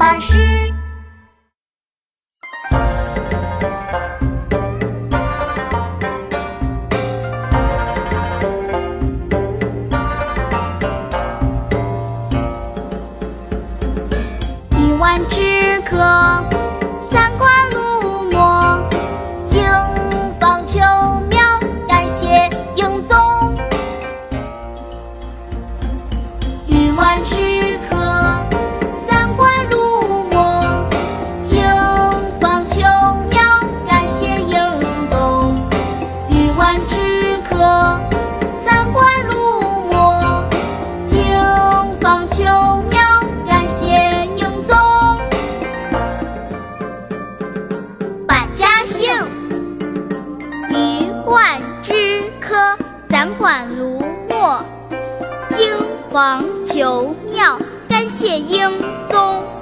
巴士。鱼丸止渴，暂管路墨，经方秋苗，感谢英宗。鱼丸止渴，暂管路墨，经方秋苗，感谢英宗。鱼丸止渴，暂管路墨，经方秋苗，感谢英宗。百家姓：鱼丸止渴，暂管路墨，经方秋苗，感谢英宗。